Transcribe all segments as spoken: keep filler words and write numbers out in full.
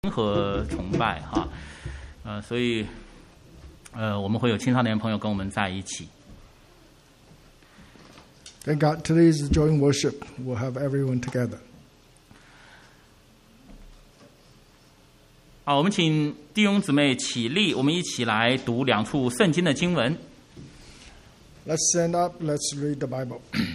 和崇拜哈，呃，所以呃我们会有青少年朋友跟我们在一起。 Thank God today is joy in worship. We'll have everyone together. 好，我们请弟兄姊妹起立，我们一起来读两处圣经的经文。 Let's stand up. Let's read the Bible.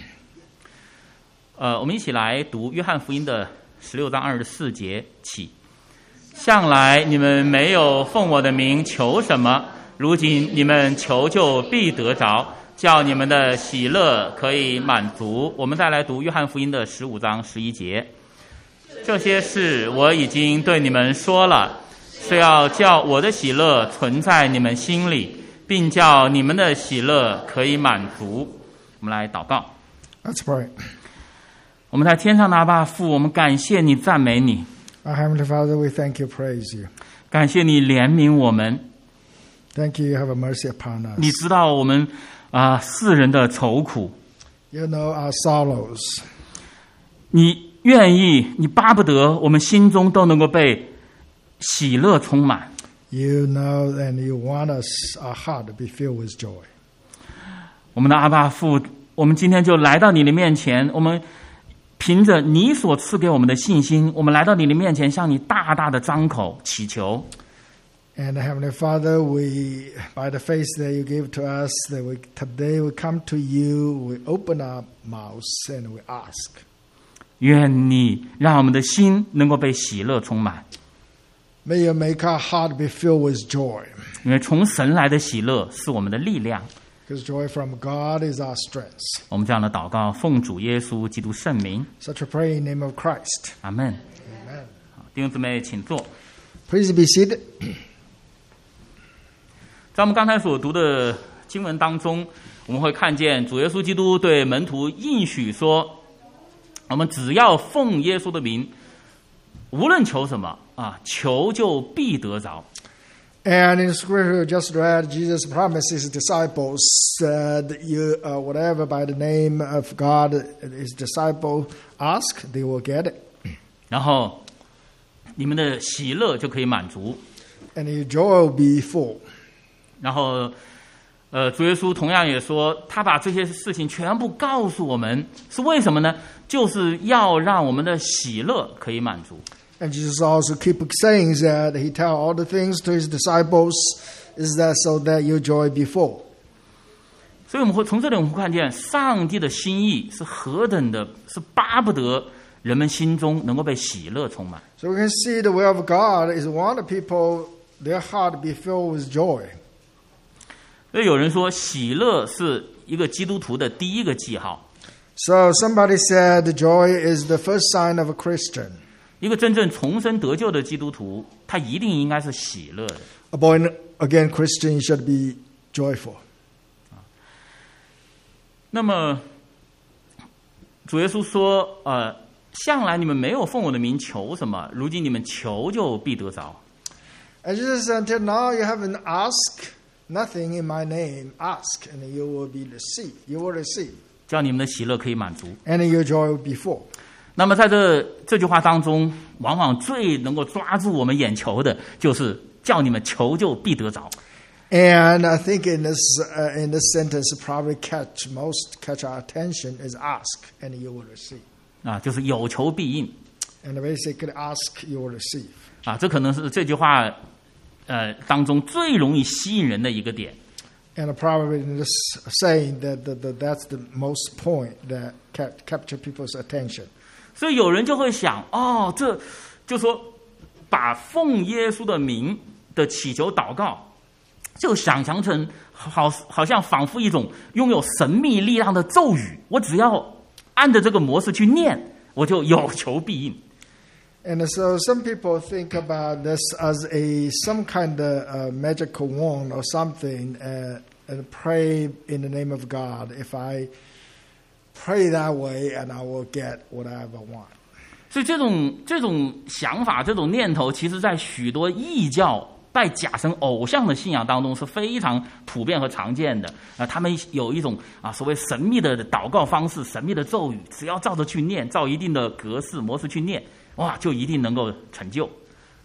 呃，我们一起来读约翰福音的十六章二十四节起。向来你们没有奉我的名求什么，如今你们求就必得着，叫你们的喜乐可以满足。我们再来读约翰福音的十五章十一节。这些事我已经对你们说了，是要叫我的喜乐存在你们心里，并叫你们的喜乐可以满足。我们来祷告。 Let's pray. 我们在天上的阿爸父，我们感谢你，赞美你。 Our Heavenly Father, we thank you, praise you. 感谢你怜悯我们。 Thank you, you have a mercy upon us. 你知道我们啊、呃、世人的愁苦。 You know our sorrows. 你愿意，你巴不得我们心中都能够被喜乐充满。 You know and you want us, our heart to be filled with joy. 我们的阿爸父，我们今天就来到你的面前，我们凭着你所赐给我们的信心，我们来到你的面前，向你大大的张口祈求。 And Heavenly Father, we, by the faith that you give to us, that we today we come to you, we open our mouths and we ask. 愿你让我们的心能够被喜乐充满。 May you make our heart be filled with joy. 因为从神来的喜乐是我们的力量。 Because joy from God is our strength. 我们这样的祷告，奉主耶稣基督圣名。 Such a prayer in the name of Christ. 阿们。 Amen. 弟兄姊妹，请坐。 Please be seated. 在我们刚才所读的经文当中，我们会看见主耶稣基督对门徒应许说，我们只要奉耶稣的名，无论求什么啊，求就必得着。 And in Scripture just read, Jesus promised his disciples that you, uh, whatever by the name of God his disciple ask, they will get it. 然后你们的喜乐就可以满足。 And your joy will be full. 然后呃，主耶稣同样也说，他把这些事情全部告诉我们，是为什么呢？就是要让我们的喜乐可以满足。 And Jesus also keep saying that he tell all the things to his disciples is that so that your joy be full. 所以我们会从这里我们会看见上帝的心意是何等的，是巴不得人们心中能够被喜乐充满。 So we can see the will of God is want people, their heart be filled with joy. 所以有人说，喜乐是一个基督徒的第一个记号。 So somebody said joy is the first sign of a Christian. 一个真正重生得救的基督徒，他一定应该是喜乐的。 A born again Christian should be joyful. 那么主耶稣说，呃，向来你们没有奉我的名求什么，如今你们求就必得着。 And Jesus said, until now you haven't asked nothing in my name. Ask and you will be received. You will receive. 叫你们的喜乐可以满足。 And your joy will be full. 那么在这这句话当中，往往最能够抓住我们眼球的，就是叫你们求就必得着。 And I think in this uh, in this sentence, probably catch most catch our attention is ask and you will receive. 啊，就是有求必应。 And basically, ask you will receive. 啊，这可能是这句话呃当中最容易吸引人的一个点。 And probably in this saying that the, the, that's the most point that cap, capture people's attention. 所以有人就会想，哦，这就说把奉耶稣的名的祈求祷告，就想象成好好像仿佛一种拥有神秘力量的咒语，我只要按着这个模式去念，我就有求必应。 And so some people think about this as a some kind of uh, magical wand or something, uh, and pray in the name of God. If I pray that way, and I will get whatever I want. 所以这种这种想法、这种念头，其实在许多异教拜假神偶像的信仰当中是非常普遍和常见的。啊，他们有一种啊所谓神秘的祷告方式、神秘的咒语，只要照着去念，照一定的格式模式去念，哇，就一定能够成就。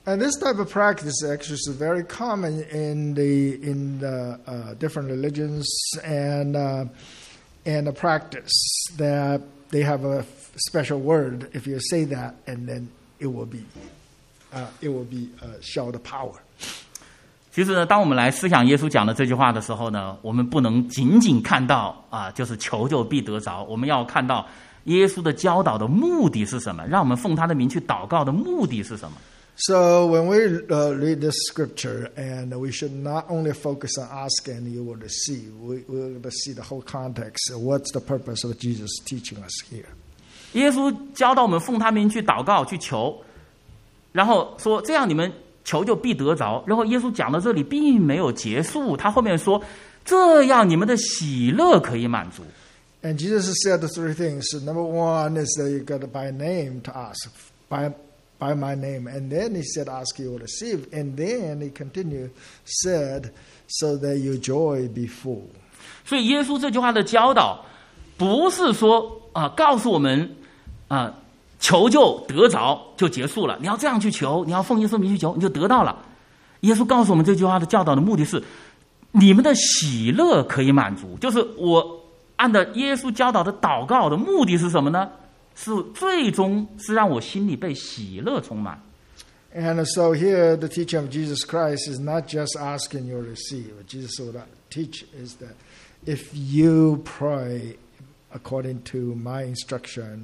And this type of practice actually is very common in the in the uh, different religions and uh, and a practice that they have a special word. If you say that, and then it will be uh, it will be uh, show the power. 其实呢，当我们来思想耶稣讲的这句话的时候呢，我们不能仅仅看到啊，就是求就必得着，我们要看到耶稣的教导的目的是什么，让我们奉他的名去祷告的目的是什么。 So when we uh, read this scripture, and we should not only focus on asking and you will receive, we will see the whole context. What's the purpose of Jesus teaching us here? 耶稣教导我们奉他名去祷告去求，然后说这样你们求就必得着。然后耶稣讲到这里并没有结束，他后面说这样你们的喜乐可以满足。 And Jesus said the three things. Number one is that you got to by name to ask, by by my name. And then he said, ask, you will receive. And then he continued, said, so that your joy be full. 所以耶稣这句话的教导不是说啊、呃，告诉我们啊、呃，求就得着就结束了，你要这样去求，你要奉耶稣名去求，你就得到了。耶稣告诉我们这句话的教导的目的是你们的喜乐可以满足，就是我按照耶稣教导的祷告的目的是什么呢？是最终是让我心里被喜乐充满。 And so here the teaching of Jesus Christ is not just asking you to receive. What Jesus would teach is that if you pray according to my instruction,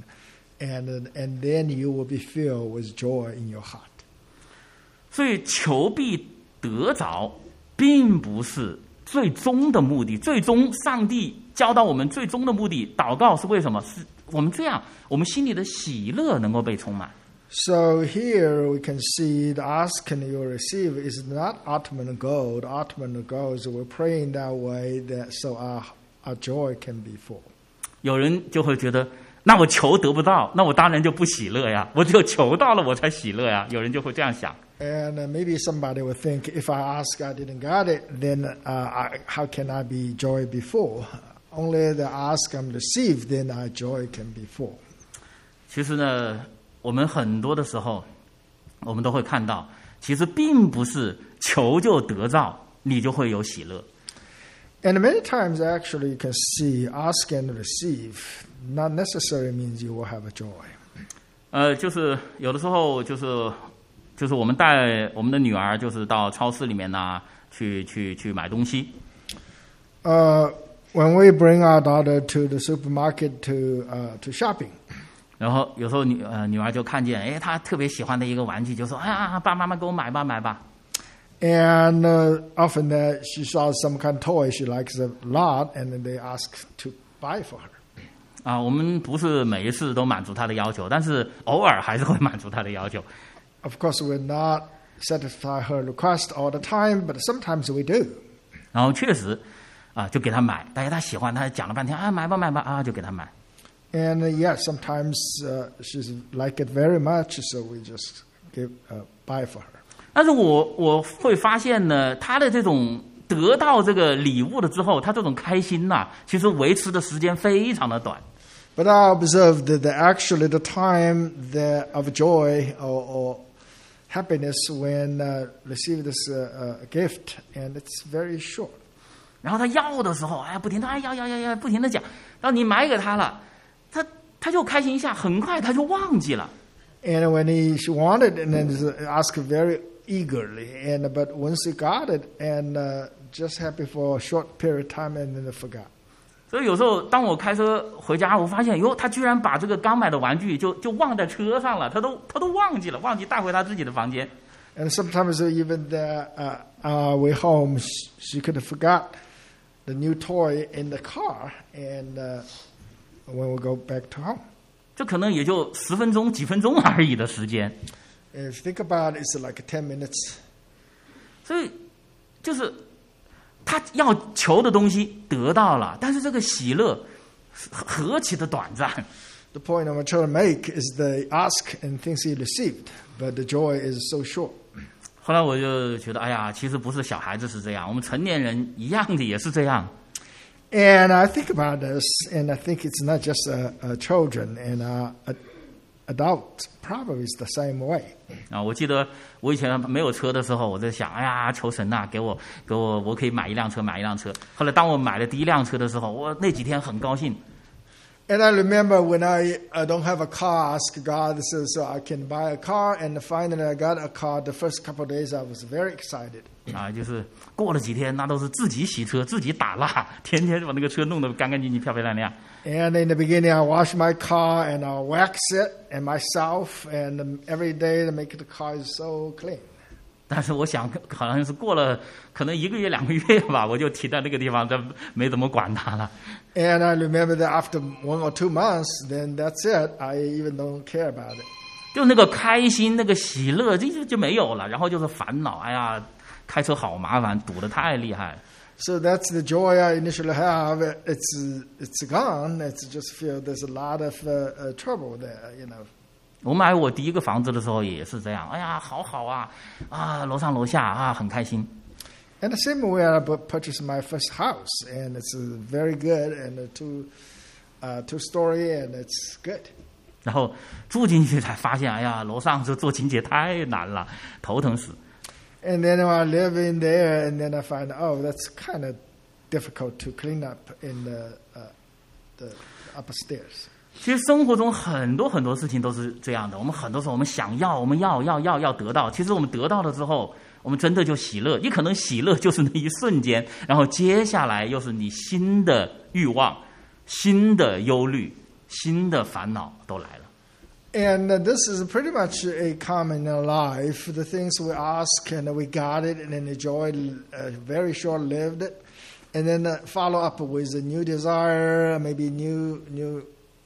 and and then you will be filled with joy in your heart. 所以求必得着，并不是最终的目的。最终上帝教导我们最终的目的，祷告是为什么？是我们这样，我们心里的喜乐能够被充满。 So here we can see the ask and you receive is not ultimate goal. The ultimate goal is we're praying that way that so our our joy can be full. 有人就会觉得，那我求得不到，那我当然就不喜乐呀。我只有求到了，我才喜乐呀。有人就会这样想。 And uh, maybe somebody would think, if I ask, I didn't get it, then uh, I, how can I be joy be full? Only the ask and receive, then our joy can be full. 其实呢，我们很多的时候，我们都会看到，其实并不是求就得到，你就会有喜乐。 And many times, actually, you can see ask and receive not necessarily means you will have a joy. 呃，就是有的时候，就是就是我们带我们的女儿，就是到超市里面呢，去去去买东西。 Uh, when we bring our daughter to the supermarket to uh, to shopping. 然后有时候女呃女儿就看见，哎，她特别喜欢的一个玩具，就说：“哎呀，爸，妈妈给我买吧，买吧。” And uh, often that she saw some kind of toy she likes a lot, and then they ask to buy for her. 啊，我们不是每一次都满足她的要求，但是偶尔还是会满足她的要求。 Of course, we're not satisfy her request all the time, but sometimes we do. 然后确实，啊，就给她买，但是她喜欢，她讲了半天，啊，买吧，买吧，啊，就给她买。 And uh, yes, sometimes uh, she's like it very much, so we just give uh, buy for her. 但是我我会发现呢，她的这种得到这个礼物了之后，她这种开心呐、啊，其实维持的时间非常的短。 But I observed that the, actually the time that of joy or, or happiness when uh, receive this uh, uh, gift, and it's very short. 然后她要的时候，哎，不停的哎要要要要，不停的讲，然后你买给她了，她她就开心一下，很快她就忘记了。 And when he she wanted, and then asked very eagerly, and but once he got it, and uh, just happy for a short period of time, and then they forgot. 所以有时候当我开车回家，我发现哟，他居然把这个刚买的玩具就就忘在车上了，他都他都忘记了，忘记带回他自己的房间。 And sometimes even the, uh, our way home, she, she could have forgot the new toy in the car, and uh, when we go back to home. 这可能也就十分钟、几分钟而已的时间。 If you think about it, it's like ten minutes. 所以就是他要求的东西得到了，但是这个喜乐何其的短暂。 The point I'm trying to make is the ask and things he received, but the joy is so short. 后来我就觉得，哎呀，其实不是小孩子是这样，我们成年人一样的也是这样。 And I think about this, and I think it's not just uh, uh, children, and uh, uh, adult probably is the same way. 啊，我记得我以前没有车的时候，我在想，哎呀，求神呐、啊，给我给我，我可以买一辆车，买一辆车。后来当我买了第一辆车的时候，我那几天很高兴。 And I remember when I, I don't have a car, I asked God so, so I can buy a car, and finally I got a car. The first couple of days I was very excited. 啊，就是过了几天，那都是自己洗车，自己打蜡，天天把那个车弄得干干净净、漂漂亮亮。 And in the beginning, I wash my car and I wax it and myself, and every day to make the car is so clean. 但是我想，好像是过了可能一个月、两个月吧，我就停在那个地方，就没怎么管它了。 And I remember that after one or two months, then that's it. I even don't care about it. 就那个开心、那个喜乐，这就就没有了。然后就是烦恼，哎呀，开车好麻烦，堵得太厉害。 So that's the joy I initially have. It's it's gone. It's just feel there's a lot of uh, uh, trouble there, you know. 我买我第一个房子的时候也是这样，哎呀，好好啊，啊，楼上楼下啊，很开心。 And the same way I purchased my first house, and it's very good, and a two, uh, two story, and it's good. 然后住进去才发现，哎呀，楼上这做清洁太难了，头疼死。 And then I live in there, and then I find, oh, that's kind of difficult to clean up in the uh, the upstairs. 其实生活中很多很多事情都是这样的，我们很多时候我们想要，我们要要要要得到，其实我们得到了之后，我们真的就喜乐，也可能喜乐就是那一瞬间，然后接下来又是你新的欲望、新的忧虑、新的烦恼都来了。 And uh, this is pretty much a common in our life. The things we ask and we got it and then enjoyed, uh, very short-lived it, and then uh, follow up with a new desire, maybe new new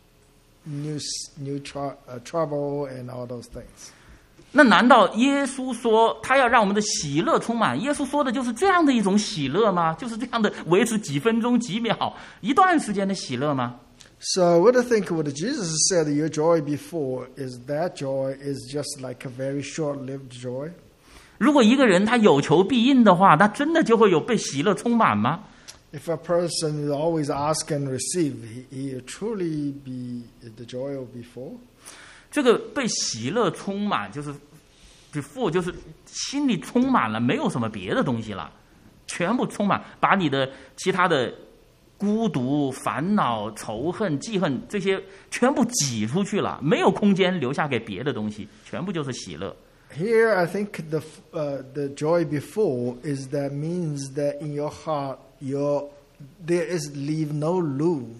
new new tr- uh, trouble and all those things. 那难道耶稣说他要让我们的喜乐充满？耶稣说的就是这样的一种喜乐吗？就是这样的维持几分钟、几秒、一段时间的喜乐吗？ So what I think what Jesus said, your joy before, is that joy is just like a very short-lived joy. 如果一个人他有求必应的话，那真的就会有被喜乐充满吗？ If a person is always ask and receive, he, he truly be the joy of before. 这个被喜乐充满，就是 before 就是心里充满了，没有什么别的东西了，全部充满，把你的其他的孤独、烦恼、仇恨、记恨这些全部挤出去了，没有空间留下给别的东西，全部就是喜乐。 Here, I think the uh, the joy before is that means that in your heart, your there is leave no room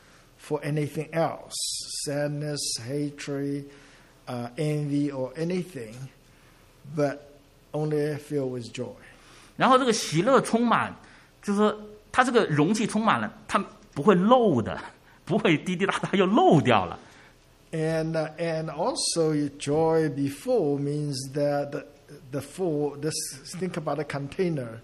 for anything else, sadness, hatred, uh, envy, or anything, but only filled with joy. 然后这个喜乐充满，就是说它这个容器充满了，它不会漏的，不会滴滴答答又漏掉了。 And uh, and also your joy before means that the, the full. This think about a container,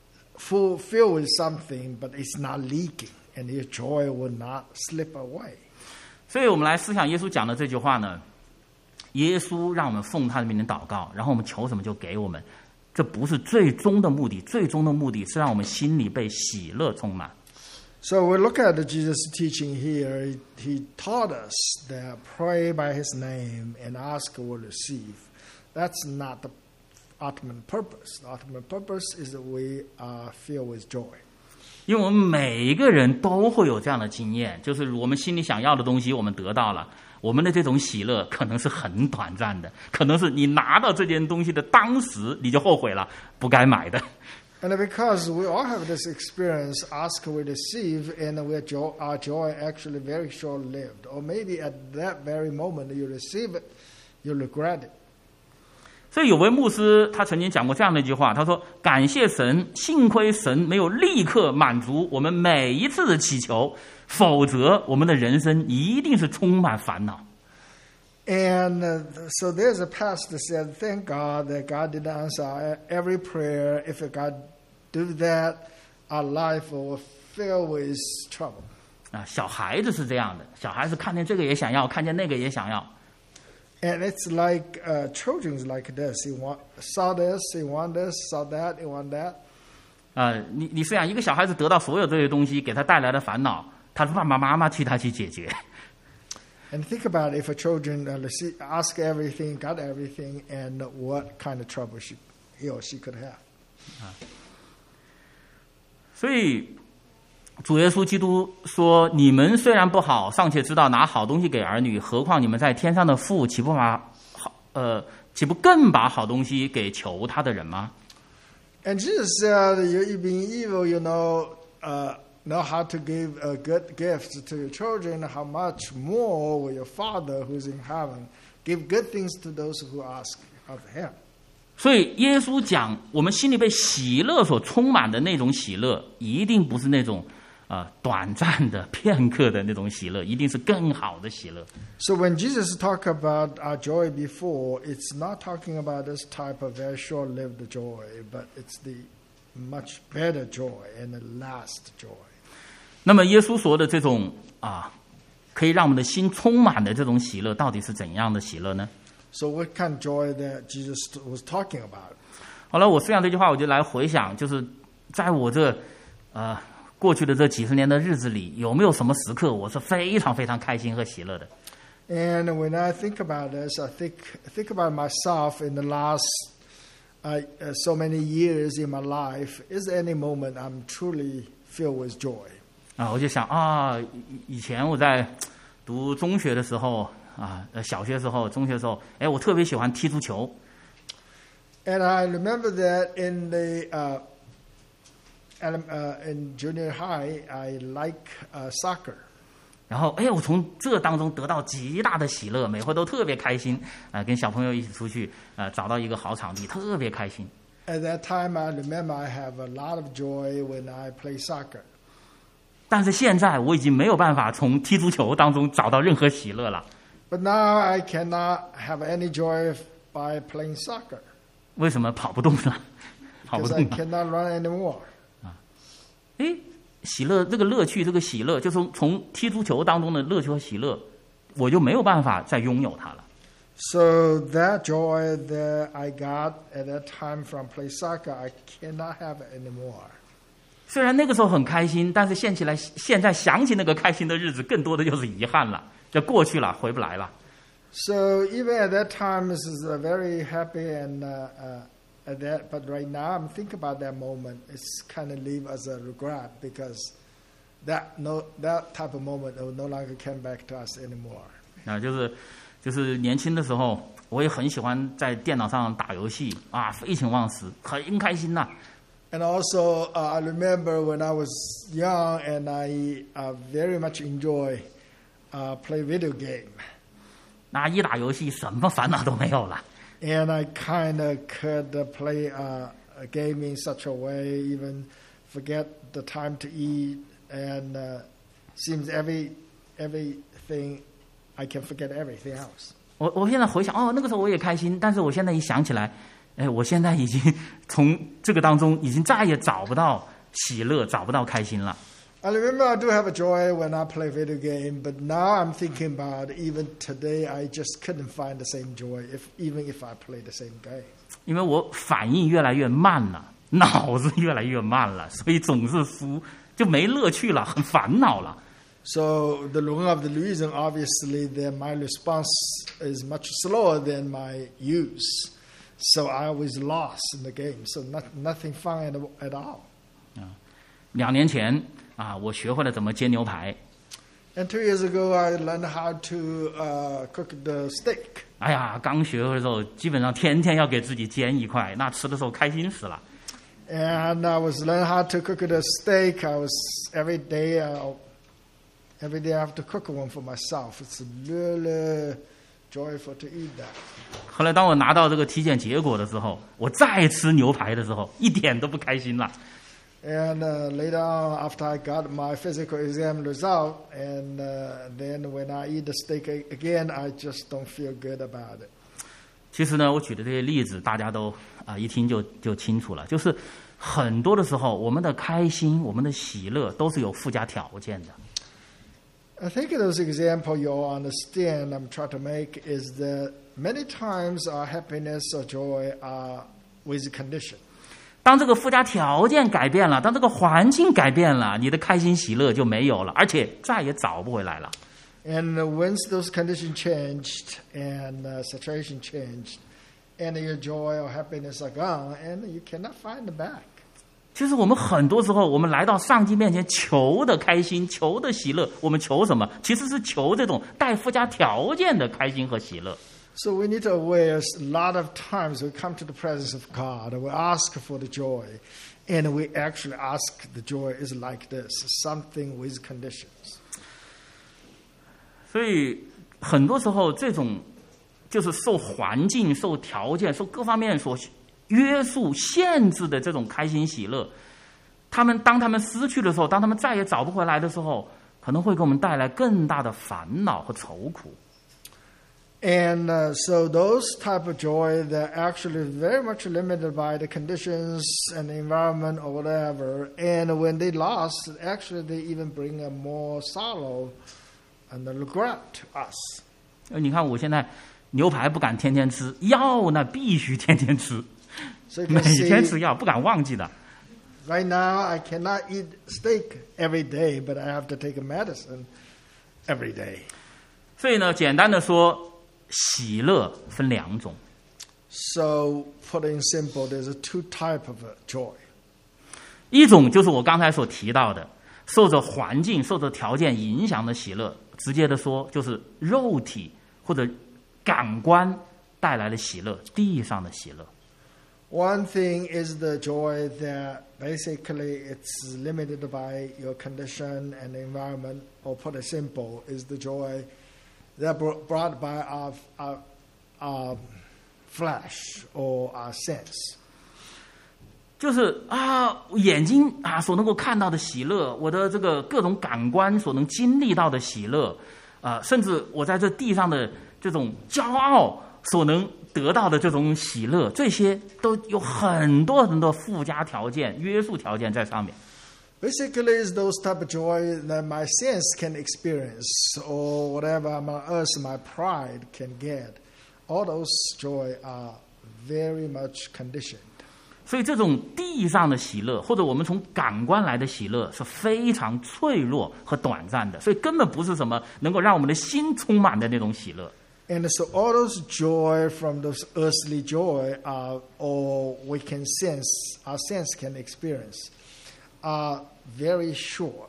full filled with something, but it's not leaking, and your joy will not slip away. 所以我们来思想耶稣讲的这句话呢，耶稣让我们奉他的名祷告，然后我们求什么就给我们，这不是最终的目的，最终的目的是让我们心里被喜乐充满。 So we look at Jesus' teaching here. He, he taught us that pray by His name and ask will receive. That's not the ultimate purpose. The ultimate purpose is that we are filled with joy. 因为我们每一个人都会有这样的经验，就是我们心里想要的东西我们得到了，我们的这种喜乐可能是很短暂的，可能是你拿到这件东西的当时你就后悔了，不该买的。 And because we all have this experience, ask we receive, and we joy, our joy actually very short-lived. Or maybe at that very moment you receive it, you regret it. 所以有位牧师他曾经讲过这样的一句话，他说：“感谢神，幸亏神没有立刻满足我们每一次的祈求，否则我们的人生一定是充满烦恼。” And uh, so there's a pastor that said, thank God that God did not answer every prayer. If God do that, our life will fill with trouble. 啊，小孩子是这样的，小孩子看见这个也想要，看见那个也想要。 And it's like uh, children's like this. He want, saw this, he want this, saw that, he want that. 啊，你你是想一个小孩子得到所有这些东西，给他带来的烦恼，他的爸爸妈妈替他去解决。 And think about if a children uh, ask everything, got everything, and what kind of trouble she, he or she could have. 所以主耶稣基督说：“你们虽然不好，尚且知道拿好东西给儿女，何况你们在天上的父，岂不把好呃，岂不更把好东西给求他的人吗？” And Jesus said, "You being evil, you know, uh, know how to give uh, good gifts to your children. How much more will your Father who's in heaven give good things to those who ask of Him?" 所以耶稣讲，我们心里被喜乐所充满的那种喜乐，一定不是那种呃短暂的、片刻的那种喜乐，一定是更好的喜乐。 So when Jesus talked about our joy before, it's not talking about this type of very short-lived joy, but it's the much better joy and the last joy. 那么耶稣说的这种啊，可以让我们的心充满的这种喜乐，到底是怎样的喜乐呢？ So what kind of joy that Jesus was talking about? 好了，我思想这句话，我就来回想，就是在我这呃过去的这几十年的日子里，有没有什么时刻我是非常非常开心和喜乐的？ And when I think about this, I think think about myself in the last uh, uh, so many years in my life. Is there any moment I'm truly filled with joy? 啊，我就想啊，以以前我在读中学的时候啊，呃，小学的时候、中学的时候，哎，我特别喜欢踢足球。 And I remember that in the uh, uh, in junior high, I like uh, soccer. 然后，哎，我从这当中得到极大的喜乐，每回都特别开心，啊、呃，跟小朋友一起出去，呃，找到一个好场地，特别开心。 At that time, I remember I have a lot of joy when I play soccer. 但是现在我已经没有办法从踢足球当中找到任何喜乐了。 But now I cannot have any joy by playing soccer. 为什么跑不动了？跑不 Because I 动了。 cannot run anymore. 哎，喜乐这个乐趣，这个喜乐，就从从踢足球当中的乐趣和喜乐，我就没有办法再拥有它了。 So that joy that I got at that time from play soccer, I cannot have it anymore. 虽然那个时候很开心，但是现起来，现在想起那个开心的日子，更多的就是遗憾了。这过去了，回不来了。 So even at that time, this is a very happy and uh, uh, at that. But right now, I'm thinking about that moment. It's kind of leave as a regret because that no that type of moment will no longer come back to us anymore. 啊，就是就是年轻的时候，我也很喜欢在电脑上打游戏啊，废寝忘食，很开心呐。 And also, uh, I remember when I was young, and I uh, very much enjoy uh, play video game. 那一打游戏，什么烦恼都没有了。 And I kind of could uh, play uh, a game in such a way, even forget the time to eat, and uh, seems every everything I can forget everything else. 我我现在回想，哦，那个时候我也开心，但是我现在一想起来，哎，我现在已经从这个当中已经再也找不到喜乐，找不到开心了。 I remember I do have a joy when I play video game, but now I'm thinking about even today I just couldn't find the same joy, if even if I play the same game. 因为我反应越来越慢了，脑子越来越慢了，所以总是输，就没乐趣了，很烦恼了。 So the one of the reason, obviously, that my response is much slower than my use. So I was lost in the game. So not, nothing fun at, at all. 两年前啊，我学会了怎么煎牛排。 And two years ago, I learned how to uh, cook the steak. 哎呀，刚学会的时候，基本上天天要给自己煎一块，那吃的时候开心死了。 And I was learning how to cook the steak. I was every day, uh, every day I have to cook one for myself. It's really joyful to eat that. 后来当我拿到这个体检结果的时候，我再吃牛排的时候，一点都不开心了。 And uh, later on, after I got my physical exam result, and uh, then when I eat the steak again, I just don't feel good about it. 其实呢，我举的这些例子，大家都啊一听就就清楚了。就是很多的时候，我们的开心、我们的喜乐都是有附加条件的。 I think those example you'll understand I'm trying to make is that many times our happiness or joy are with condition. 当这个附加条件改变了，当这个环境改变了，你的开心喜乐就没有了，而且再也找不回来了。 And uh, once those conditions changed and uh, situation changed, and your joy or happiness are gone, and you cannot find them back. 其实我们很多时候，我们来到上帝面前求的开心，求的喜乐，我们求什么？其实是求这种带附加条件的开心和喜乐。 So we need to aware a lot of times we come to the presence of God and we ask for the joy, and we actually ask the joy is like this, something with conditions. 所以很多时候，这种就是受环境、受条件、受各方面所约束、限制的这种开心喜乐，他们当他们失去的时候，当他们再也找不回来的时候，可能会给我们带来更大的烦恼和愁苦。 And uh, so those type of joy, they're actually very much limited by the conditions and the environment or whatever. And when they lost, actually they even bring a more sorrow and a regret to us. 你看我现在牛排不敢天天吃，药呢必须天天吃， So you 每 can see, 天吃药不敢忘记的。 right now I cannot eat steak every day, but I have to take a medicine every day. 所以呢，简单的说，喜乐分两种。 So put it in simple, there's a two type of a joy. 一种就是我刚才所提到的，受着环境、受着条件影响的喜乐，直接的说就是肉体或者感官带来的喜乐，地上的喜乐。 One thing is the joy that basically it's limited by your condition and the environment, or put it simple, is the joy that brought by our, our, our flesh or our sense. 就是啊，眼睛啊所能够看到的喜乐，我的这个各种感官所能经历到的喜乐，啊，甚至我在这地上的这种骄傲所能得到的这种喜乐，这些都有很多很多附加条件、约束条件在上面。 Basically, it's those type of joy that my sense can experience, or whatever my us, my pride can get. All those joy are very much conditioned. 所以这种地上的喜乐，或者我们从感官来的喜乐，是非常脆弱和短暂的，所以根本不是什么能够让我们的心充满的那种喜乐。 And so all those joy from those earthly joy, are, or we can sense, our sense can experience, are very short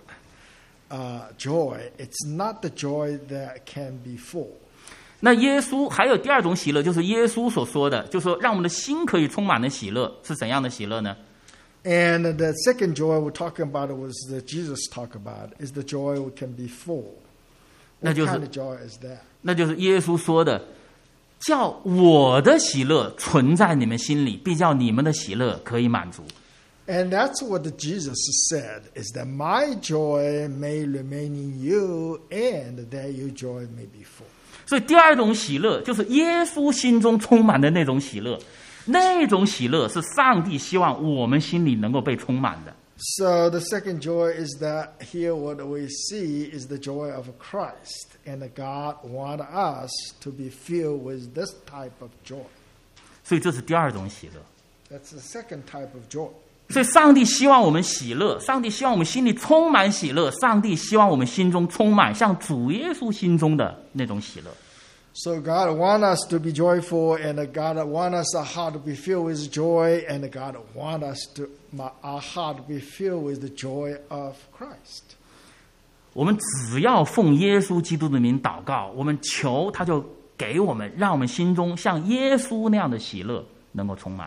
uh, joy. It's not the joy that can be full. 那耶稣还有第二种喜乐，就是耶稣所说的，就是说让我们的心可以充满的喜乐，是怎样的喜乐呢？ And the second joy we're talking about was that Jesus talked about, is the joy we can be full. What kind of joy is that? 那就是耶稣说的，叫我的喜乐存在你们心里，必叫你们的喜乐可以满足。 And that's what the Jesus said, is that my joy may remain in you, and that your joy may be full. 所以第二种喜乐就是耶稣心中充满的那种喜乐，那种喜乐是上帝希望我们心里能够被充满的。 So the second joy is that here what we see is the joy of Christ, and God wants us to be filled with this type of joy. 所以这是第二种喜乐。 That's the second type of joy. 所以上帝希望我们喜乐，上帝希望我们心里充满喜乐，上帝希望我们心中充满像主耶稣心中的那种喜乐。 So God wants us to be joyful, and God wants us our heart to be filled with joy, and God wants us to our heart to be filled with the joy of Christ. 我们只要奉耶稣基督的名祷告，我们求他就给我们，让我们心中像耶稣那样的喜乐能够充满。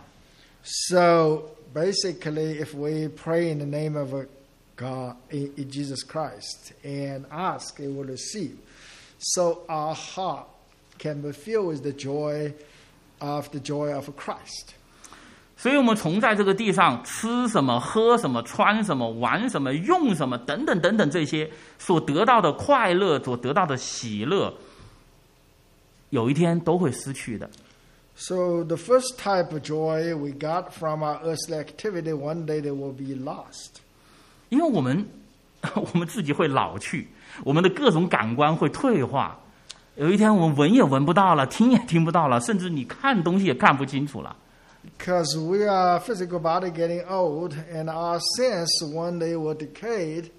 So basically, if we pray in the name of God, in, in Jesus Christ, and ask, it will receive. So our heart can be filled with the joy of the joy of Christ. 所以我们从在这个地上吃什么、喝什么、穿什么、玩什么、用什么等等等等这些所得到的快乐、所得到的喜乐，有一天都会失去的。 So the first type of joy we got from our earthly activity, one day they will be lost. 因为我们我们自己会老去，我们的各种感官会退化。有一天我们闻也闻不到了，听也听不到了，甚至你看东西也看不清楚了。 Because we are physical body getting old, and our sense one day will decay,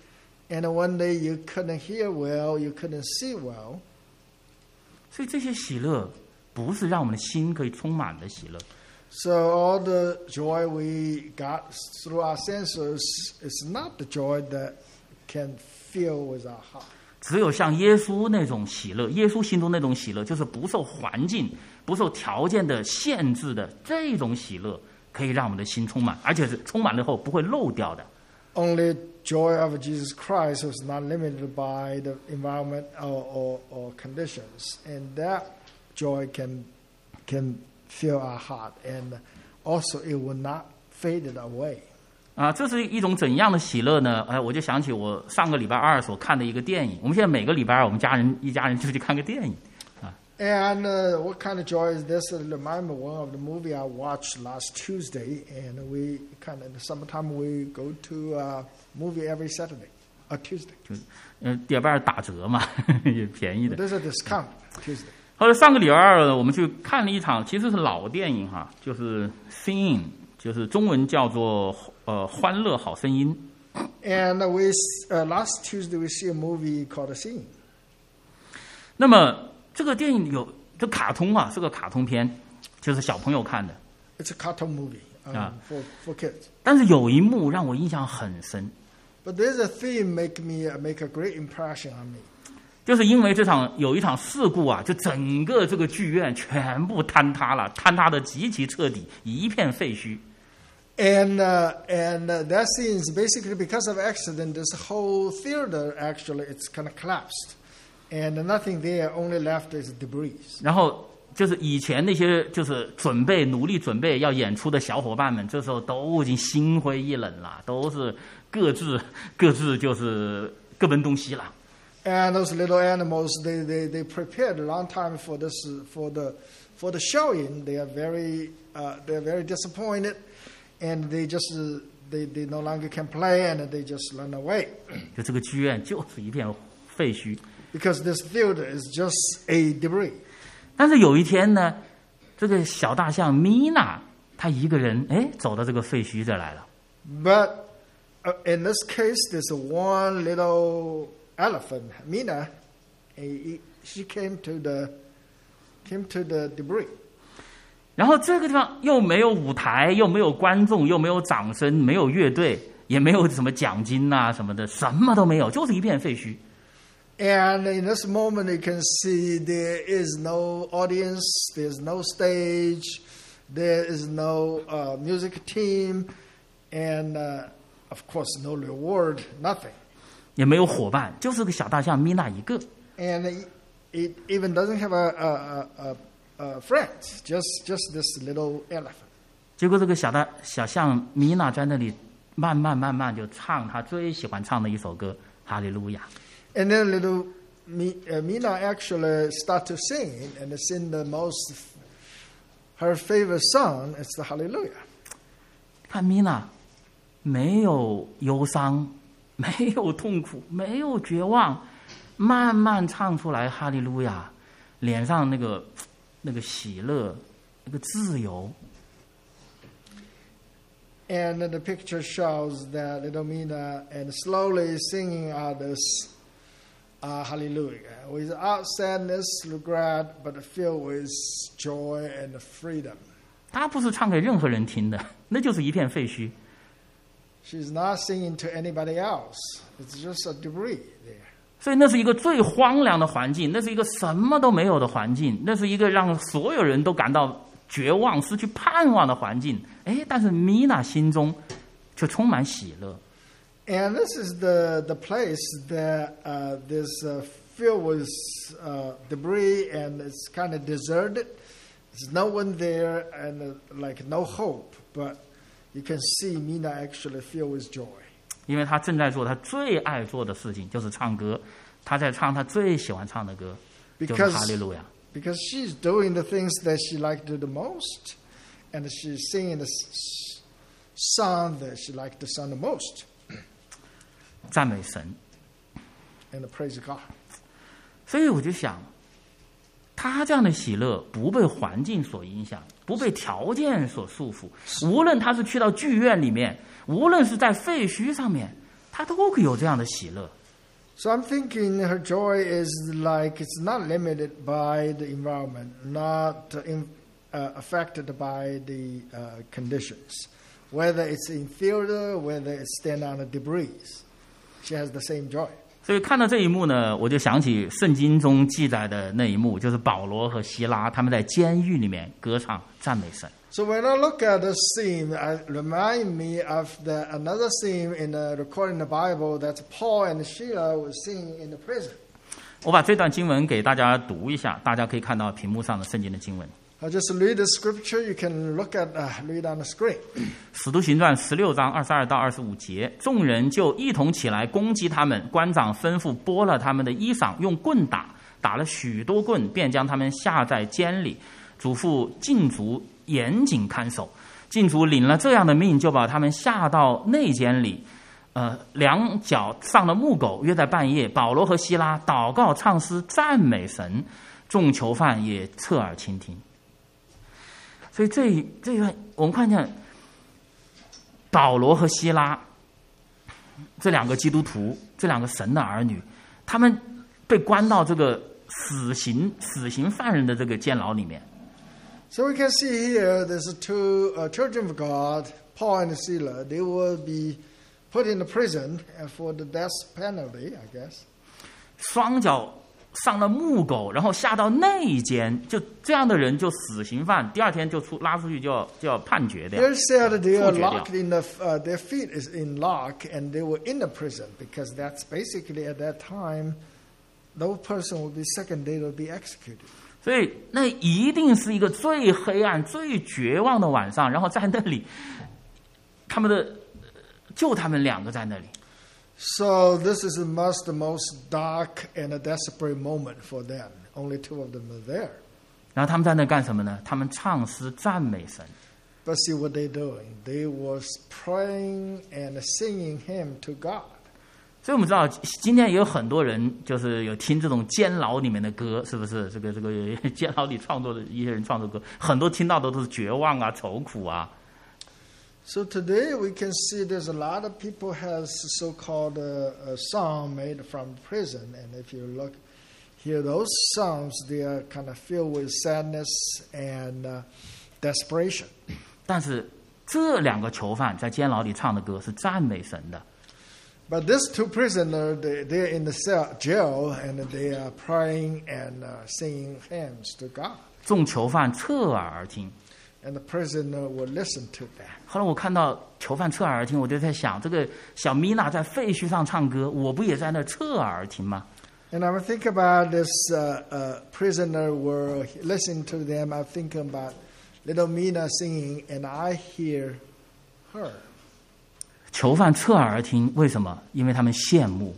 And one day you couldn't hear well, you couldn't see well. 所以这些喜乐不是让我们的心可以充满的喜乐。 So all the joy we got through our senses is not the joy that can fill with our heart. 只有像耶稣那种喜乐，耶稣心中那种喜乐，就是不受环境、不受条件的限制的这种喜乐，可以让我们的心充满，而且是充满了后不会漏掉的。 Only joy of Jesus Christ is not limited by the environment or, or, or conditions, and that joy can can fill our heart, and also it will not fade it away. 啊，这是一种怎样的喜乐呢？哎，我就想起我上个礼拜二所看的一个电影。我们现在每个礼拜二，我们家人一家人就去看个电影。啊 And uh, what kind of joy is this? I remember one of the movie I watched last Tuesday, and we kind of in the summertime we go to a movie every Saturday or Tuesday. 就是呃，礼拜二打折嘛，也便宜的。 There's a discount Tuesday. 后来上个礼拜二呢，我们去看了一场，其实是老电影哈，就是《Sing》，就是中文叫做呃《欢乐好声音》。 And uh, we uh, last Tuesday we see a movie called Sing. 那么这个电影有这卡通啊，是个卡通片，就是小朋友看的。 It's a cartoon movie um, Ah. for for kids. 但是有一幕让我印象很深， But there's a theme make me uh, make a great impression on me. 就是因为这场有一场事故啊，就整个这个剧院全部坍塌了，坍塌的极其彻底，一片废墟。 And uh, and uh, that scene is basically because of accident. This whole theater actually it's kind of collapsed, and nothing there. Only left is debris. 然后就是以前那些就是准备努力准备要演出的小伙伴们，这时候都已经心灰意冷了，都是各自各自就是各奔东西了。 And those little animals, they, they, they prepared a long time for this for the for the showing. They are very uh, they are very disappointed, and they just uh, they, they no longer can play, and they just run away 就这个剧院就是一片废墟。 because this theater is just a debris. 但是有一天呢，这个小大象米娜她一个人哎走到这个废墟这来了。 But uh, in this case, there's one little elephant, Mina. eh, She came to the came to the debris. 然后这个地方又没有舞台，又没有观众，又没有掌声，没有乐队，也没有什么奖金啊什么的，什么都没有，就是一片废墟。 And in this moment, you can see there is no audience, there's no stage, there is no uh, music team, and uh, of course, no reward, nothing. 也没有伙伴，就是个小大象米娜一个。 And it, it even doesn't have a, a, a, a friend, just, just this little elephant. 结果这个小大小象米娜在那里慢慢慢慢就唱她最喜欢唱的一首歌《哈利路亚》。 And then little Mi- uh, Mina actually start to sing, and sing the most, her favorite song is the Hallelujah. 看米娜没有忧伤，没有痛苦，没有绝望，慢慢唱出来哈利路亚，脸上那个那个喜乐，那个自由。 And the picture shows that little Mina and slowly singing out this uh, Hallelujah without sadness, regret, but filled with joy and freedom. 她不是唱给任何人听的，那就是一片废墟。 She's not singing to anybody else. It's just a debris there. 所以那是一个最荒凉的环境，那是一个什么都没有的环境，那是一个让所有人都感到绝望、失去盼望的环境。哎，但是米娜心中却充满喜乐。 And this is the, the place that uh, this uh, filled with uh, debris, and it's kind of deserted. There's no one there, and uh, like no hope. But you can see Mina actually filled with joy. 因为她正在做她最爱做的事情，就是唱歌。她在唱她最喜欢唱的歌，就是哈利路亚。 Because she's doing the things that she liked to do the most, and she's singing the s- song that she liked to sing the most, 赞美神。 and praise God. 所以我就想，他这样的喜乐不被环境所影响，不被条件所束缚。无论他是去到剧院里面，无论是在废墟上面，他都可以有这样的喜乐。 So I'm thinking her joy is like it's not limited by the environment, not in, uh, affected by the uh, conditions, whether it's in theater, whether it's stand on the debris. She has the same joy. 所以看到这一幕呢，我就想起圣经中记载的那一幕，就是保罗和希拉他们在监狱里面歌唱赞美神。 So when I look at the scene, it reminds me of the, another scene in the recording in the Bible that Paul and Sheila were singing in the prison. 我把这段经文给大家读一下，大家可以看到屏幕上的圣经的经文。 I'll just read the scripture. You can look at, uh, read on the screen. 使徒行传十六章二十二到二十五节，众人就一同起来攻击他们，官长吩咐剥了他们的衣裳，用棍打，打了许多棍，便将他们下在监里，嘱咐禁足严谨看守。禁足领了这样的命，就把他们下到内监里，呃，两脚上了木狗。约在半夜，保罗和希拉祷告唱诗赞美神，众囚犯也侧耳倾听。所以这这一段我们看见保罗和希拉这两个基督徒，这两个神的儿女，他们被关到这个死刑死刑犯人的这个监牢里面。 So we can see here there's two uh, children of God, Paul and Silas. They will be put in the prison for the death penalty, I guess. 双脚上了木狗，然后下到内监，就这样的人就死刑犯，第二天就出拉出去就要就要判决掉。 They said they are locked in the uh, their feet is in lock and they were in the prison because that's basically at that time, no person will be second day will be executed. 所以那一定是一个最黑暗、最绝望的晚上，然后在那里，他们的就他们两个在那里。 So this is the most, the most dark and a desperate moment for them. Only two of them are there. 然后他们在那干什么呢？他们唱诗赞美神。 But see what they're doing. They was praying and singing hymn to God. 所以我们知道，今天也有很多人就是有听这种监牢里面的歌，是不是？这个这个监牢里创作的一些人创作歌，很多听到的都是绝望啊、愁苦啊。 So today we can see there's a lot of people has so-called a, a song made from prison, and if you look, hear those songs, they are kind of filled with sadness and uh, desperation. 但是这两个囚犯在监牢里唱的歌是赞美神的。 But these two prisoners, they, they're in the cell, jail, and they are praying and uh, singing hymns to God. 众囚犯侧耳而听。 And the prisoner will listen to that. 后来我看到囚犯侧耳而听，我就在想，这个小米娜在废墟上唱歌，我不也在那侧耳而听吗？ And I think about this uh, uh, prisoner were listening to them. I think about little Mina singing, and I hear her. 囚犯侧耳而听，为什么？因为他们羡慕。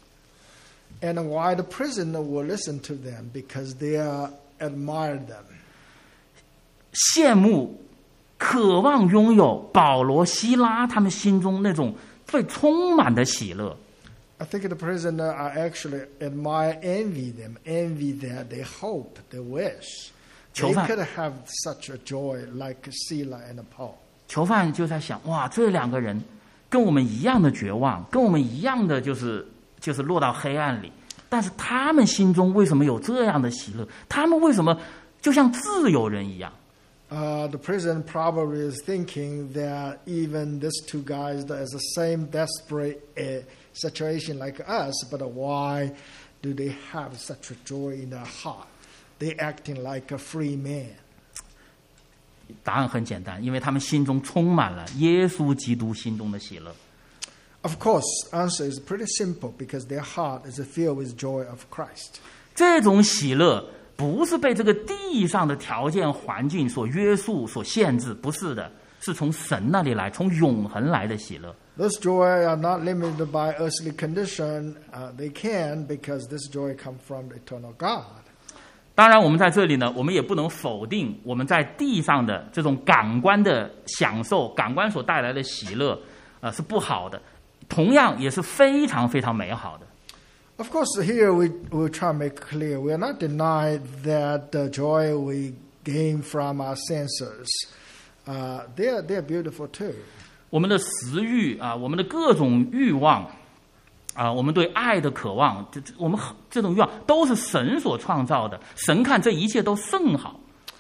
And why the prisoner will listen to them? Because they are admire them. 羡慕、渴望拥有保罗、希拉他们心中那种最充满的喜乐。 I think the prisoner are actually admire, envy them, envy that they hope, they wish they could have such a joy like Sila and Paul. 囚犯就在想，哇，这两个人跟我们一样的绝望，跟我们一样的就是就是落到黑暗里，但是他们心中为什么有这样的喜乐？他们为什么就像自由人一样？ Uh, the prison probably is thinking that even these two guys that is the same desperate uh, situation like us, but why do they have such a joy in their heart? They acting like a free man. 答案很简单，因为他们心中充满了耶稣基督心中的喜乐。 Of course, answer is pretty simple because their heart is filled with joy of Christ. 这种喜乐。不是被这个地上的条件环境所约束、所限制，不是的，是从神那里来，从永恒来的喜乐。 Those joy are not limited by earthly condition. Uh, they can because this joy comes from the eternal God. 当然，我们在这里呢，我们也不能否定我们在地上的这种感官的享受、感官所带来的喜乐，呃，是不好的，同样也是非常非常美好的。 Of course, here we we try to make clear we are not denying that the joy we gain from our senses, uh, they are they are beautiful too. 我们的食欲啊，我们的各种欲望， 啊，我们对爱的渴望，这我们这种欲望都是神所创造的，神看这一切都甚好。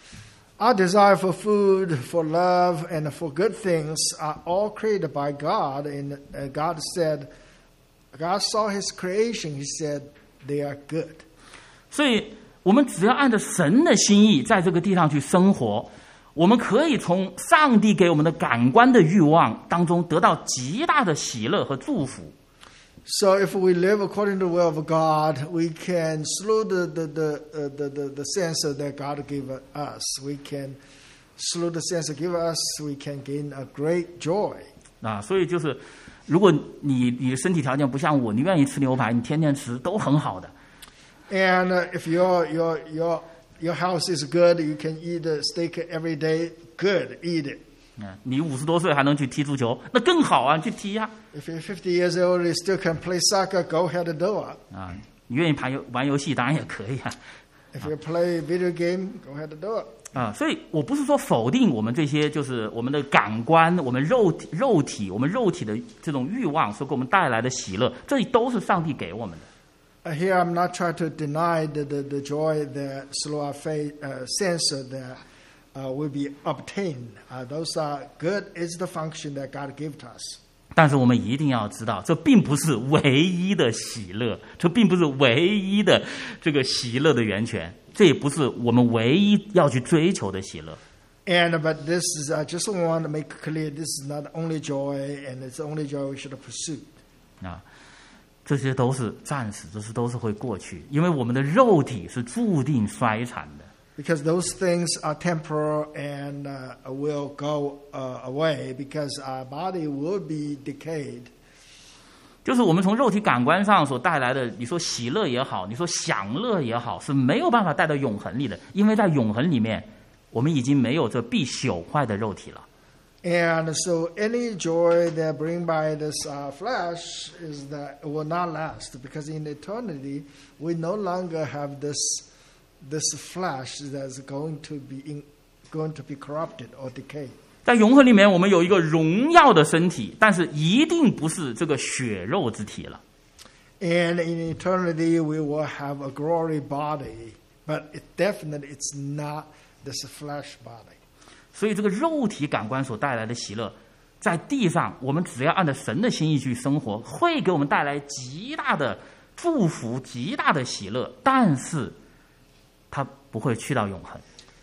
Our desire for food, for love, and for good things are all created by God. And uh, God said, God saw His creation. He said, they are good. 所以我们只要按照神的心意在这个地上去生活，我们可以从上帝给我们的感官的欲望当中得到极大的喜乐和祝福。 So if we live according to the will of God, we can slow the the the uh, the, the, the sensor that God gave us. We can slow the sensor give us. We can gain a great joy. 啊，所以就是，如果你你的身体条件不像我，你愿意吃牛排，你天天吃都很好的。 And uh, if your your your your house is good, you can eat a steak every day. Good, eat it. 嗯，你五十多岁还能去踢足球，那更好啊，去踢呀、 啊。If you're fifty years old, you still can play soccer. Go ahead and do it. 啊，你愿意玩游玩游戏，当然也可以啊。 If you play video game, go ahead and do it. 啊，所以我不是说否定我们这些，就是我们的感官、我们肉体、肉体、我们肉体的这种欲望所给我们带来的喜乐，这都是上帝给我们的。 Here, I'm not trying to deny the the, the joy that through our faith uh, sense that. Uh, will be obtained. Uh, those are good. It's the function that God gave to us. 但是我们一定要知道，这并不是唯一的喜乐，这并不是唯一的这个喜乐的源泉，这也不是我们唯一要去追求的喜乐。 And but this is I just want to make clear this is not the only joy, and it's the only joy we should pursue. 啊，这些都是暂时，这些都是会过去，因为我们的肉体是注定衰残的。 Because those things are temporal and uh, will go uh, away because our body will be decayed. 就是我们从肉体感官上所带来的，你说喜乐也好，你说享乐也好，是没有办法带到永恒里的，因为在永恒里面，我们已经没有这必朽坏的肉体了。 And so any joy that bring by this uh, flesh is that it will not last because in eternity we no longer have this.This flesh that's going to be in, going to be corrupted or decayed. 在永恒里面，我们有一个荣耀的身体，但是一定不是这个血肉之体了。 And in eternity, we will have a glory body, but it definitely it's not this flesh body. 所以，这个肉体感官所带来的喜乐，在地上，我们只要按照神的心意去生活，会给我们带来极大的祝福、极大的喜乐，但是它不会去到永恒。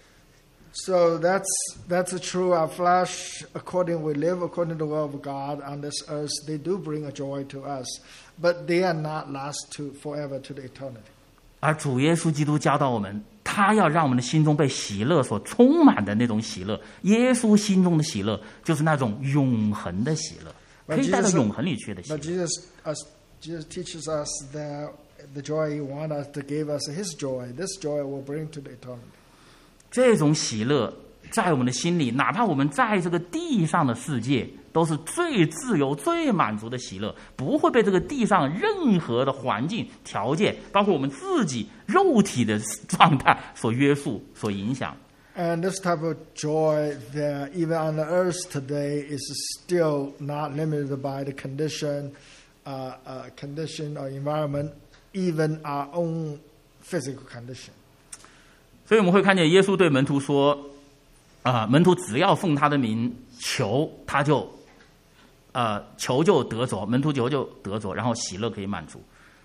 So that's that's true. Our flesh, according we live according to the will of God on this earth, they do bring a joy to us, but they are not last to forever to the eternity. 而主耶稣基督教导我们，他要让我们的心中被喜乐所充满的那种喜乐。耶稣心中的喜乐，就是那种永恒的喜乐，可以带到永恒里去的喜乐。 But Jesus, us, Jesus teaches us that the joy He wants us to give us His joy. This joy will bring to the eternity. 这种喜乐在我们的心里，哪怕我们在这个地上的世界，都是最自由、最满足的喜乐，不会被这个地上任何的环境条件，包括我们自己肉体的状态所约束、所影响。 And this type of joy that even on the earth today is still not limited by the condition, uh, uh, condition or environment, even our own physical condition. 所以我们会看见耶稣对门徒说：“啊、呃，门徒只要奉他的名求，他就，呃，求就得着，门徒求就得着，然后喜乐可以满足。”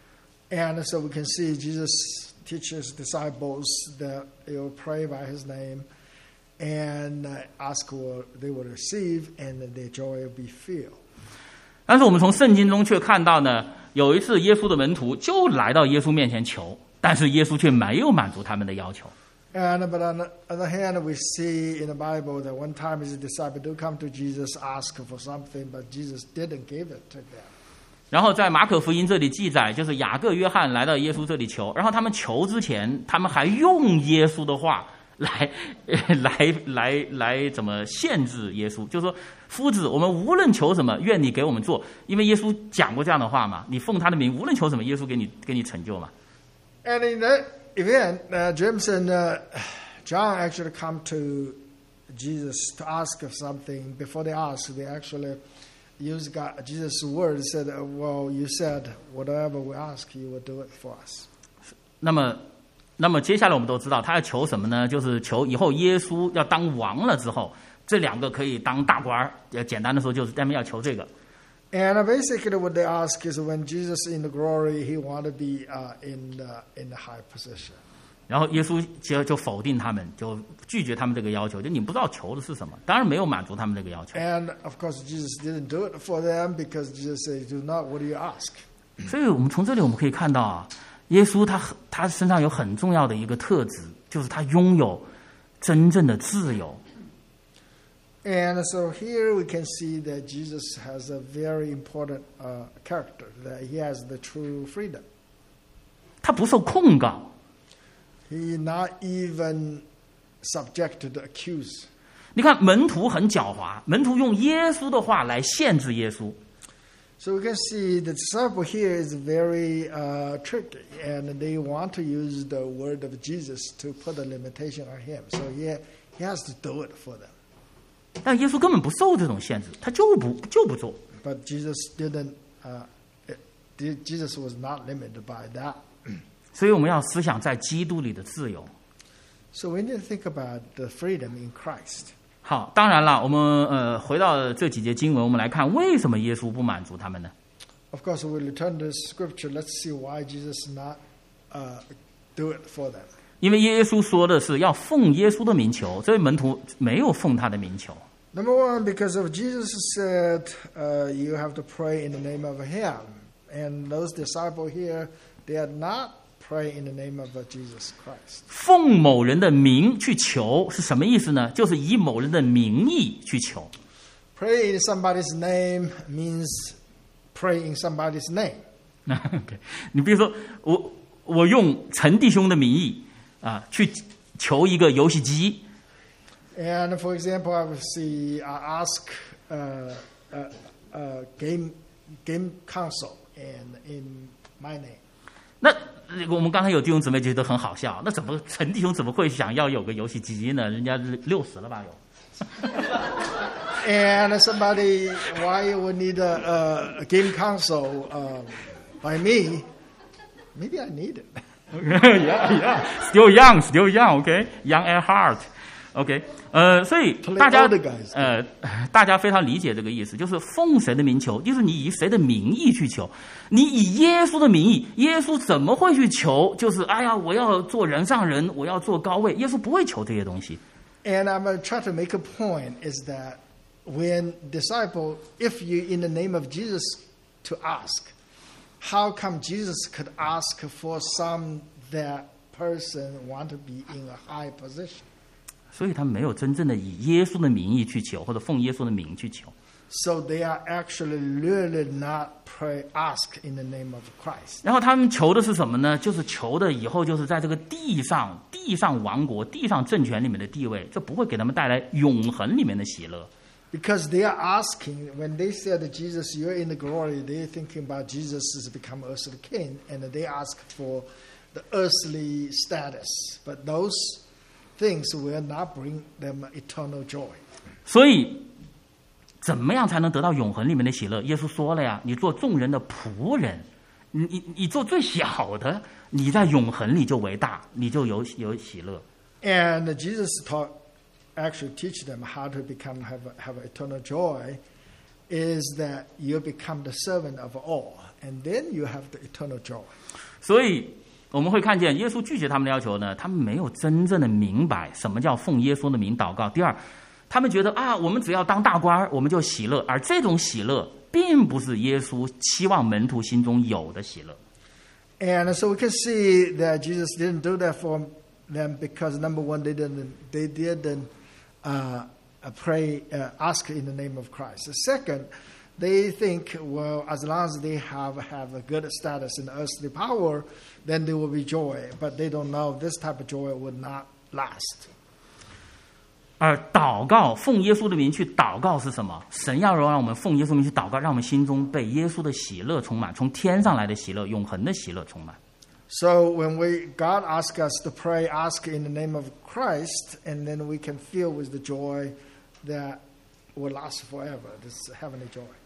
And so we can see Jesus teaches disciples that they will pray by His name, and ask what they will receive, and their joy will be filled. 但是我们从圣经中却看到呢，有一次耶稣的门徒就来到耶稣面前求，但是耶稣却没有满足他们的要求。 And but on the other hand, we see in the Bible that one time His disciples do come to Jesus, ask for something, but Jesus didn't give it to them. 然后在马可福音这里记载，就是雅各、约翰来到耶稣这里求，然后他们求之前，他们还用耶稣的话来来来来怎么限制耶稣，就是说，夫子，我们无论求什么，愿你给我们做，因为耶稣讲过这样的话嘛，你奉他的名，无论求什么，耶稣给你给你成就嘛。 And in that event, uh, James and uh, John actually come to Jesus to ask of something. Before they ask, they actually use God, Jesus' word, said, well, you said, whatever we ask, you will do it for us. 那么，那么接下来我们都知道，他要求什么呢？就是求以后耶稣要当王了之后，这两个可以当大官儿。呃，简单的说，就是他们要求这个。 And basically, what they ask is when Jesus in the glory, he want to be uh, in the, in the high position. 然后耶稣就就否定他们，就拒绝他们这个要求，就你不知道求的是什么，当然没有满足他们这个要求。 And of course, Jesus didn't do it for them because Jesus said, "Do not. What do you ask?" 所以我们从这里我们可以看到啊，耶稣他他身上有很重要的一个特质，就是他拥有真正的自由。 And so here we can see that Jesus has a very important uh, character, that he has the true freedom. 他不受控告。 He not even subjected to accuse. 你看门徒很狡猾，门徒用耶稣的话来限制耶稣。 So we can see the disciple here is very uh, tricky, and they want to use the word of Jesus to put a limitation on him. So he, he has to do it for them. 但耶稣根本不受这种限制，他就不就不做。 But Jesus didn't. Uh, it, Jesus was not limited by that. 所以我们要思想在基督里的自由。 So we need to think about the freedom in Christ. 好，当然了，我们呃回到这几节经文，我们来看为什么耶稣不满足他们呢？ Of course, we'll return to Scripture. Let's see why Jesus not uh, do it for them. 因为耶稣说的是要奉耶稣的名求，这位门徒没有奉他的名求。 Number one, because of Jesus said, uh, you have to pray in the name of Him. And those disciples here, they are not praying in the name of Jesus Christ. 奉某人的名去求是什么意思呢？就是以某人的名义去求。 Pray in somebody's name means pray in somebody's name. okay. 你比如说，我我用陈弟兄的名义啊去求一个游戏机。 And for example, I would see, I ask uh, uh, uh, game game console and in my name. 那我们刚才有弟兄姊妹觉得很好笑，那怎么陈弟兄怎么会想要有个游戏机呢？人家六十了吧有。 And somebody, why would need a, a game console uh, by me? Maybe I need it. yeah, yeah, still young, still young, okay, young at heart. OK， 呃，所以大家呃，大家非常理解这个意思，就是奉谁的名求，就是你以谁的名义去求。你以耶稣的名义，耶稣怎么会去求？就是哎呀，我要做人上人，我要做高位，耶稣不会求这些东西。 And I'm going to try to make a point is that when disciple, if you in the name of Jesus to ask, how come Jesus could ask for some that person want to be in a high position? 所以他没有真正的以耶稣的名义去求，或者奉耶稣的名去求。 So they are actually really not pray ask in the name of Christ. 然后他们求的是什么呢？就是求的以后就是在这个地上、地上王国、地上政权里面的地位，这不会给他们带来永恒里面的喜乐。 Because they are asking, when they said that Jesus, you're in the glory, they're thinking about Jesus has become earthly king, and they ask for the earthly status. But those things will not bring them eternal joy. 所以，怎么样才能得到永恒里面的喜乐？耶稣说了呀，你做众人的仆人，你你你做最小的，你在永恒里就为大，你就有有喜乐。 And Jesus taught, actually teach them how to become have have eternal joy, is that you become the servant of all, and then you have the eternal joy. 所以。我们会看见耶稣拒绝他们的要求呢，他们没有真正的明白什么叫奉耶稣的名祷告。第二，他们觉得啊，我们只要当大官，我们就喜乐，而这种喜乐并不是耶稣期望门徒心中有的喜乐。 And so we can see that Jesus didn't do that for them because number one, they didn't they didn't uh, pray uh, ask in the name of Christ. Second, they think, well, as long as they have, have a good status in earthly power, then there will be joy. But they don't know this type of joy will not last. 而祷告，奉耶稣的名去祷告是什么？神要让我们奉耶稣的名去祷告，让我们心中被耶稣的喜乐充满，从天上来的喜乐，永恒的喜乐充满。 So when we God asks us to pray, ask in the name of Christ, and then we can feel with the joy that will last forever. This heavenly joy.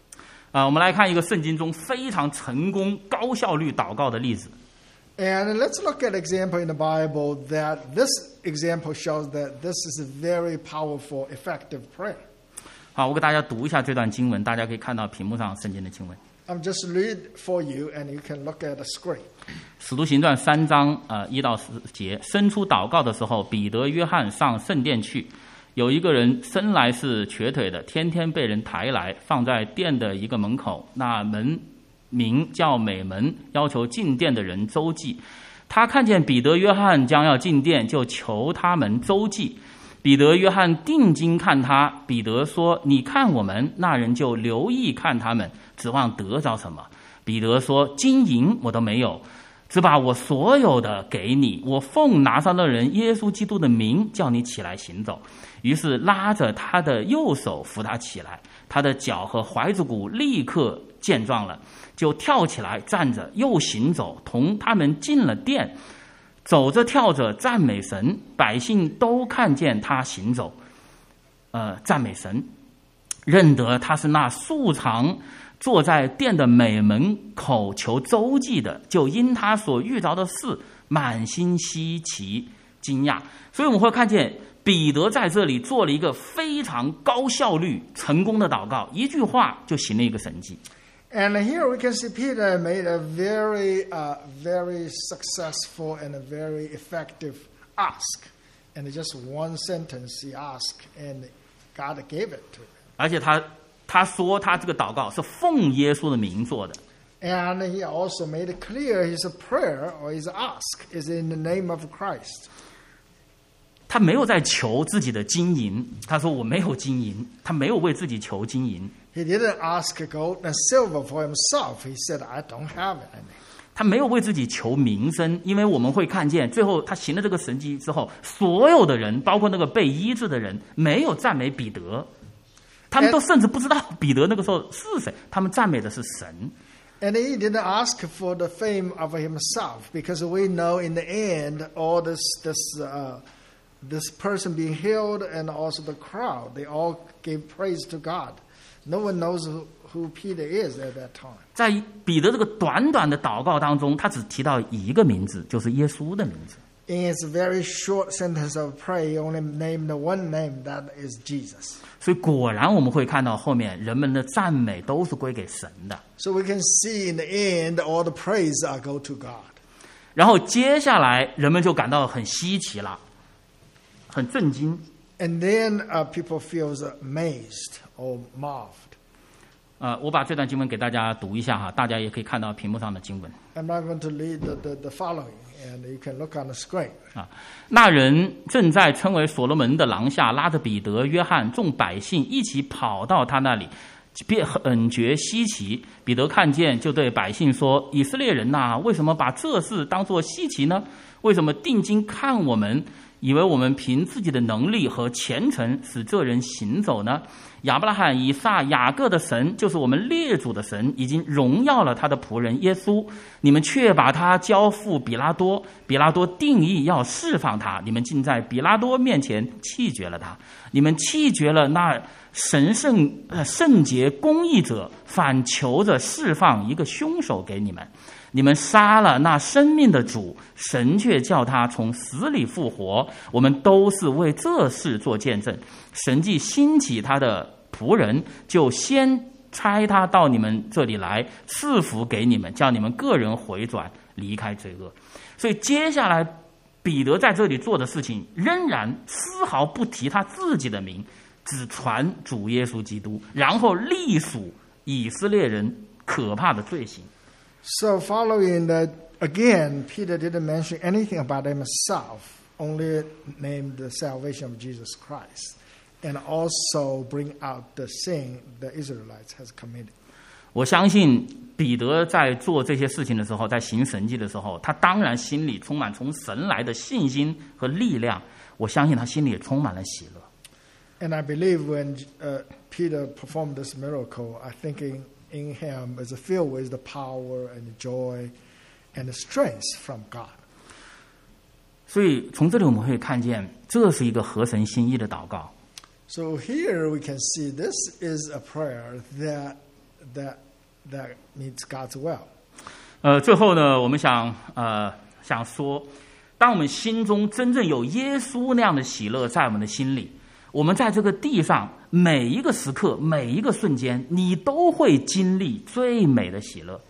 啊，我们来看一个圣经中非常成功、高效率祷告的例子。 And let's look at an example in the Bible that this example shows that this is a very powerful, effective prayer. 好，我给大家读一下这段经文，大家可以看到屏幕上圣经的经文。 I'm just read for you, and you can look at the screen. 使徒行传三章呃一到十节，伸出祷告的时候，彼得、约翰上圣殿去。有一个人生来是瘸腿的，天天被人抬来，放在殿的一个门口，那门名叫美门，要求进殿的人周济。他看见彼得、约翰将要进殿，就求他们周济。彼得、约翰定睛看他，彼得说：“你看我们。”那人就留意看他们，指望得着什么。彼得说：“金银我都没有，只把我所有的给你。我奉拿撒勒人耶稣基督的名，叫你起来行走。”于是拉着他的右手扶他起来，他的脚和踝子骨立刻健壮了，就跳起来站着，又行走，同他们进了殿，走着跳着赞美神，百姓都看见他行走，呃，赞美神，认得他是那素常坐在殿的美门口求周济的，就因他所遇着的事满心稀奇惊讶。所以我们会看见彼得在这里做了一个非常高效率成功的祷告，一句话就行了一个神迹。 And here we can see Peter made a very, uh, very successful and a very effective ask. And just one sentence he asked, and God gave it to him. 而且他他说他这个祷告是奉耶稣的名做的。 And he also made it clear his prayer or his ask is in the name of Christ. 他没有在求自己的金银，他说我没有金银，他没有为自己求金银。 He didn't ask gold and silver for himself. He said, I don't have any. 他没有为自己求名声，因为我们会看见最后他行了这个神迹之后，所有的人，包括那个被医治的人，没有赞美彼得，他们都甚至不知道彼得那个时候是谁，他们赞美的是神。 And he didn't ask for the fame of himself, because we know in the end, all this, this, uh, this person being healed and also the crowd, they all gave praise to God. No one knows who, who Peter is at that time. 在彼得这个短短的祷告当中，他只提到一个名字，就是耶稣的名字。 In his very short sentence of prayer, he only named the one name, that is Jesus. 所以果然我们会看到后面人们的赞美都是归给神的。 So we can see in the end, all the praise are go to God. 然后接下来人们就感到很稀奇了，很震惊。 And then uh, people feel amazed or marveled. 呃，我把这段经文给大家读一下哈，大家也可以看到屏幕上的经文。 I'm not going to read the, the, the following, and you can look on the screen. 啊，那人正在称为所罗门的廊下，拉着彼得、约翰众百姓一起跑到他那里，便很觉稀奇。彼得看见，就对百姓说：“以色列人呐、啊，为什么把这事当作稀奇呢？为什么定睛看我们，以为我们凭自己的能力和虔诚使这人行走呢？亚伯拉罕、以撒、雅各的神，就是我们列祖的神，已经荣耀了他的仆人耶稣。你们却把他交付比拉多，比拉多定义要释放他，你们竟在比拉多面前弃绝了他。你们弃绝了那神圣、呃、圣洁、公义者，反求着释放一个凶手给你们。你们杀了那生命的主，神却叫他从死里复活。我们都是为这事做见证。神既兴起他的仆人，就先差他到你们这里来，赐福给你们，叫你们个人回转，离开罪恶。所以接下来彼得在这里做的事情，仍然丝毫不提他自己的名，只传主耶稣基督，然后隶属以色列人可怕的罪行。 So following that, again, Peter didn't mention anything about himself, only named the salvation of Jesus Christ, and also bring out the sin the Israelites has committed. 我相信彼得在做这些事情的时候，在行神迹的时候，他当然心里充满从神来的信心和力量。我相信他心里也充满了喜乐。 And I believe when uh, Peter performed this miracle, I think in, in him is filled with the power and the joy and the strength from God. 所以从这里我们会看见，这是一个合神心意的祷告。 So here we can see this is a prayer that that that means God's will. 呃，最后呢，我们想呃想说，当我们心中真正有耶稣那样的喜乐在我们的心里，我们在这个地上每一个时刻、每一个瞬间，你都会经历最美的喜乐。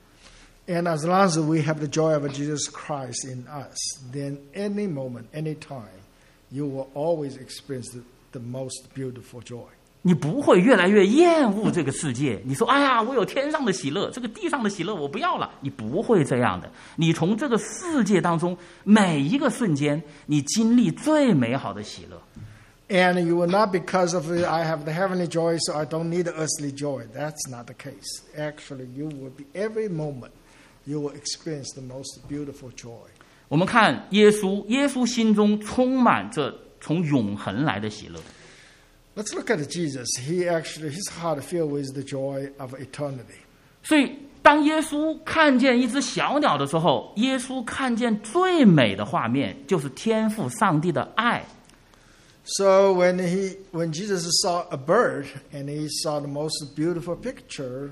And as long as we have the joy of Jesus Christ in us, then any moment, any time, you will always experience the, the most beautiful joy. 你不会越来越厌恶这个世界。你说：“哎呀，我有天上的喜乐，这个地上的喜乐我不要了。”你不会这样的。你从这个世界当中每一个瞬间，你经历最美好的喜乐。 And you will not because of I have the heavenly joy, so I don't need the earthly joy. That's not the case. Actually, you will be every moment.You will experience the most beautiful joy. 我们看耶稣，耶稣心中充满着从永恒来的喜乐。 Let's look at Jesus. He actually, his heart filled with the joy of eternity. 所以，当耶稣看见一只小鸟的时候，耶稣看见最美的画面就是天父上帝的爱。 So when he, when Jesus saw a bird and he saw the most beautiful picture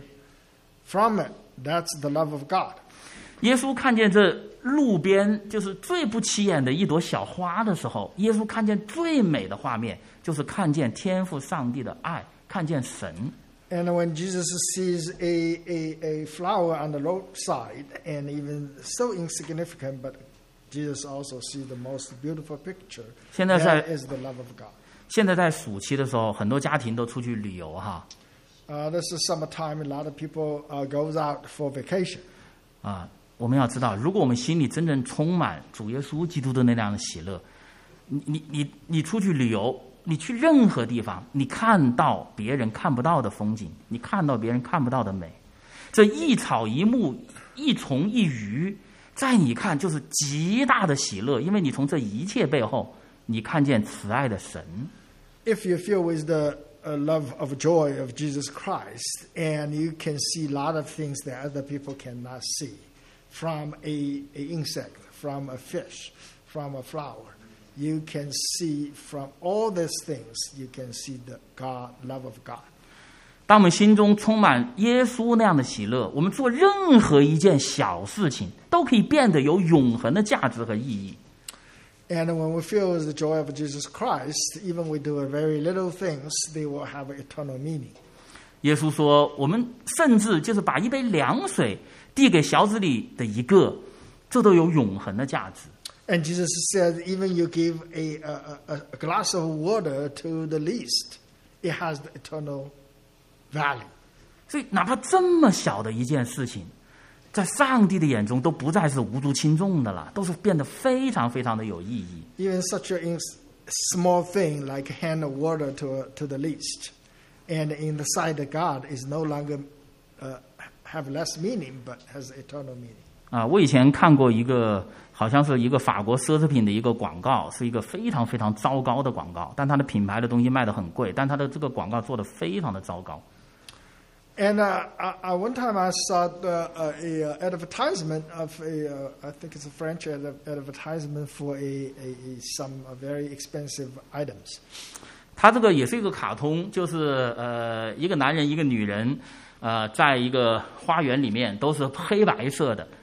from it.That's the love of God. 耶稣看见这路边就是最不起眼的一朵小花的时候，耶稣看见最美的画面，就是看见天父上帝的爱，看见神。 And when Jesus sees a, a, a flower on the roadside, and even so insignificant, but Jesus also sees the most beautiful picture. 现在在 That is the love of God. 现在在暑期的时候，很多家庭都出去旅游哈。 Uh, this is summertime. A lot of people uh, goes out for vacation. 啊，我们要知道，如果我们心里真正充满主耶稣基督的那样的喜乐，你你你你出去旅游，你去任何地方，你看到别人看不到的风景，你看到别人看不到的美，这一草一木、一虫一鱼，在你看就是极大的喜乐，因为你从这一切背后，你看见慈爱的神。 If you feel with the uh, love of joy of Jesus Christ, and you can see a lot of things that other people cannot see, from a, a insect, from a fish, from a flower, you can see from all these things, you can see the God love of God. 当我们心中充满耶稣那样的喜乐，我们做任何一件小事情，都可以变得有永恒的价值和意义。 And when we feel the joy of Jesus Christ, even we do very little things, they will have eternal meaning. 耶稣说，我们甚至就是把一杯凉水递给小子里的一个，这都有永恒的价值。 And Jesus said, even you give a, a, a glass of water to the least, it has the eternal value. 所以，哪怕这么小的一件事情，在上帝的眼中都不再是无足轻重的了，都是变得非常非常的有意义。 Even such a small thing like hand of water to to the least, and in the sight of God is no longer uh, have less meaning, but has eternal meaning. 啊，我以前看过一个，好像是一个法国奢侈品的一个广告，是一个非常非常糟糕的广告，但它的品牌的东西卖得很贵，但它的这个广告做得非常的糟糕。 And uh, uh, one time I saw uh, a, a advertisement of a, uh, I think it's a French ad- advertisement for a, a, a some very expensive items. 它这个也是一个卡通，就是呃一个男人一个女人，呃在一个花园里面都是黑白色的。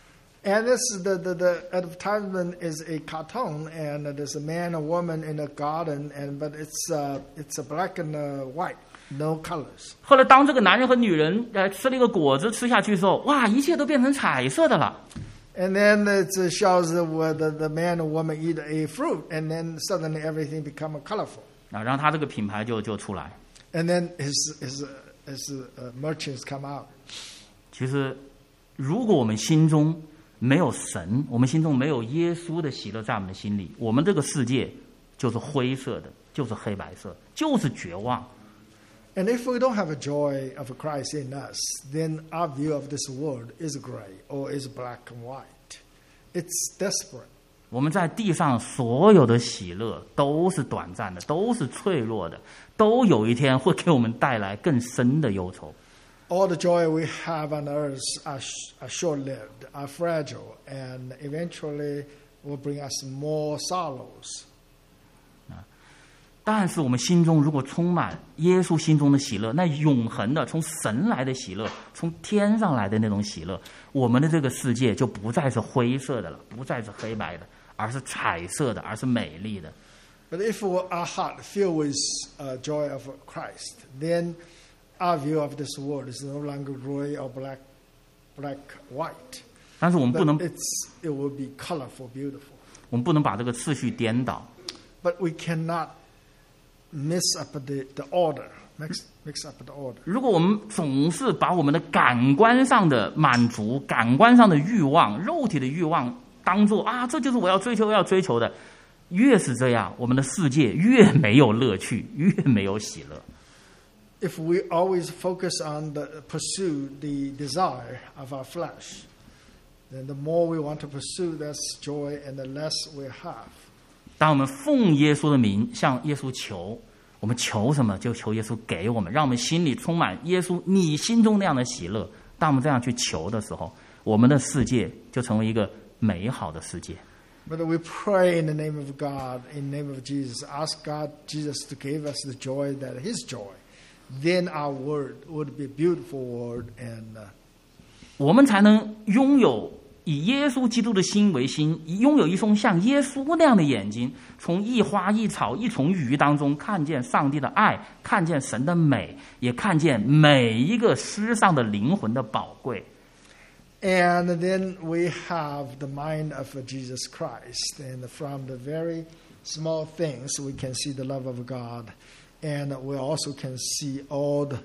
And this the, the the advertisement is a cartoon, and there's a man, a woman in a garden, and but it's uh, it's a black and uh, white. No colors. 后来，当这个男人和女人呃吃了一个果子吃下去的时候，哇，一切都变成彩色的了。 And then it shows where the, the man and woman eat a fruit, and then suddenly everything become colorful. 啊，然后他这个品牌就就出来。 And then his his his uh, merchants come out. 其实，如果我们心中没有神，我们心中没有耶稣的喜乐在我们的心里，我们这个世界就是灰色的，就是黑白色，就是绝望。 And if we don't have a joy of Christ in us, then our view of this world is gray or is black and white. It's desperate. 我们在地上所有的喜乐都是短暂的，都是脆弱的，都有一天会给我们带来更深的忧愁。 All the joy we have on earth are, are short-lived, are fragile, and eventually will bring us more sorrows. 但是我们心中如果充满耶稣心中的喜乐，那永恒的从神来的喜乐，从天上来的那种喜乐，我们的这个世界就不再是灰色的了，不再是黑白的，而是彩色的，而是美丽的。 But if our heart filled with uh, joy of Christ, then our view of this world is no longer gray or black, black, white. 但是我们不 But 能， it's, it will be colorful, beautiful. 我们不能把这个次序颠倒。 But we cannot mix up the, the order, mix, mix up the order. 如果我们总是把我们的感官上的满足、感官上的欲望、肉体的欲望当做啊，这就是我要追求、要追求的，越是这样，我们的世界越没有乐趣，越没有喜乐。 If we always focus on the pursue the desire of our flesh, then the more we want to pursue that joy and the less we have. 当我们奉耶稣的名向耶稣求，我们求什么就求耶稣给我们，让我们心里充满耶稣你心中那样的喜乐。当我们这样去求的时候，我们的世界就成为一个美好的世界。 But we pray in the name of God, in the name of Jesus, ask God, Jesus, to give us the joy that His joy. Then our world would be a beautiful world, and uh, 我们才能拥有以耶稣基督的心为心，拥有一双像耶稣那样的眼睛，从一花一草一丛鱼当中看见上帝的爱，看见神的美，也看见每一个世上的灵魂的宝贵。 and then we have the mind of Jesus Christ, and from the very small things we can see the love of God, and we also can see all the,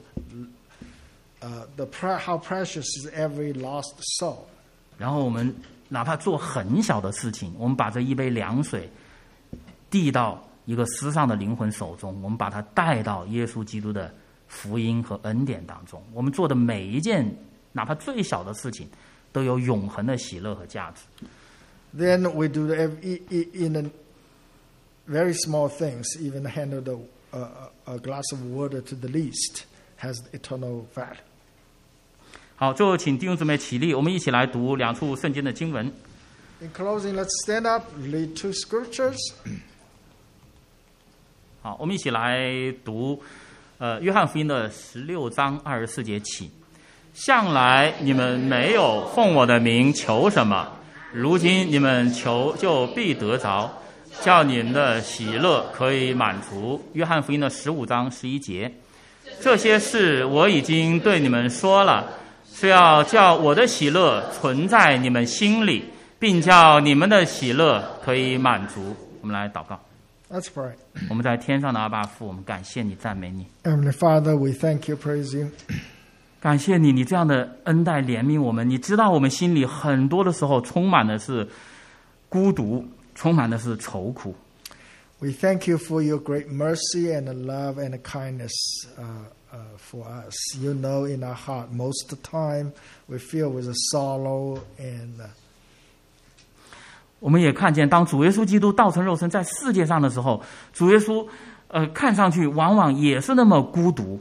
uh, the pre- how precious is every lost soul. 然后我们哪怕做很小的事情，我们把这一杯凉水递到一个失丧的灵魂手中，我们把它带到耶稣基督的福音和恩典当中。我们做的每一件哪怕最小的事情，都有永恒的喜乐和价值。 Then we do the, in the very small things, even handle the, uh, a glass of water to the least has eternal value. 好，最后请弟兄姊妹起立，我们一起来读两处圣经的经文。 In closing, let's stand up, read two scriptures. 好，我们一起来读，呃，约翰福音的十六章二十四节起。向来你们没有奉我的名求什么，如今你们求就必得着，叫你们的喜乐可以满足。约翰福音的十五章十一节。这些事我已经对你们说了，是要叫我的喜乐存在你们心里，并叫你们的喜乐可以满足。我们来祷告。 Let's pray. 我们在天上的阿爸父，我们感谢你，赞美你。 Heavenly Father, we thank you, praise you. 感谢你，你这样的恩待怜悯我们。你知道我们心里很多的时候充满的是孤独，充满的是愁苦。 We thank you for your great mercy and love and kindness uh, uh, for us. You know in our heart most of the time we feel with a sorrow and uh, 我们也看见，当主耶稣基督道成肉身在世界上的时候，主耶稣呃看上去往往也是那么孤独。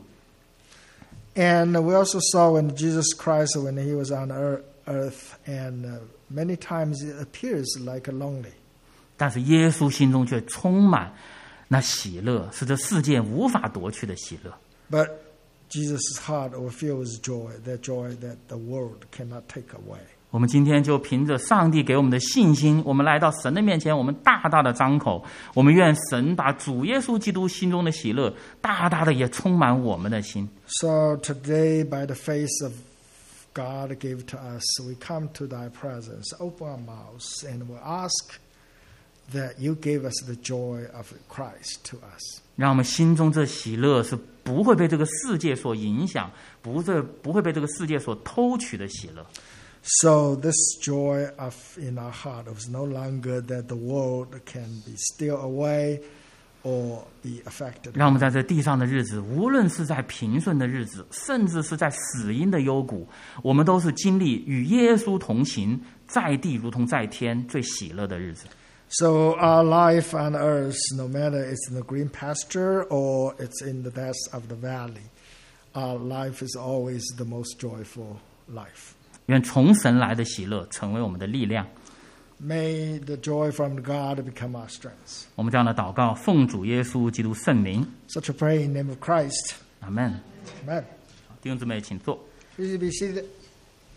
And we also saw when Jesus Christ, when he was on earth, and uh, many times it appears like a lonely. 但是耶稣心中却充满那喜乐，是这世界无法夺去的喜乐。 But Jesus' heart will fill with joy, that joy that the world cannot take away. 我们今天就凭着上帝给我们的信心，我们来到神的面前，我们大大的张口，我们愿神把主耶稣基督心中的喜乐，大大的也充满我们的心。 So today, by the face of God gave to us, we come to thy presence, open our mouths, and we ask that you gave us the joy of Christ to us. 让我们心中这喜乐是不会被这个世界所影响，不是不会被这个世界所偷取的喜乐。 So this joy of in our heart is no longer that the world can be steal away or be affected. 让我们在这地上的日子，无论是在平顺的日子，甚至是在死荫的幽谷，我们都是经历与耶稣同行，在地如同在天最喜乐的日子。 So our life on earth, no matter it's in the green pasture or it's in the depths of the valley, our life is always the most joyful life. 愿从神来的喜乐成为我们的力量。 May the joy from God become our strength. 我们这样的祷告，奉主耶稣基督圣名， Such a prayer in the name of Christ. 阿门。 Amen. 弟兄姊妹，请坐。 Please be seated.